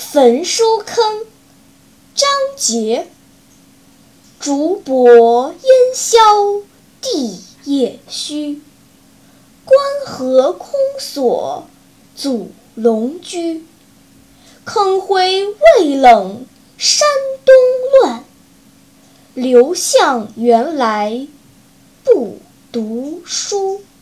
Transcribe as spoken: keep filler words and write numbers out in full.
焚书坑，张杰。竹柏烟消地叶虚，关河空锁阻龙驹。坑灰未冷山东乱，刘向原来不读书。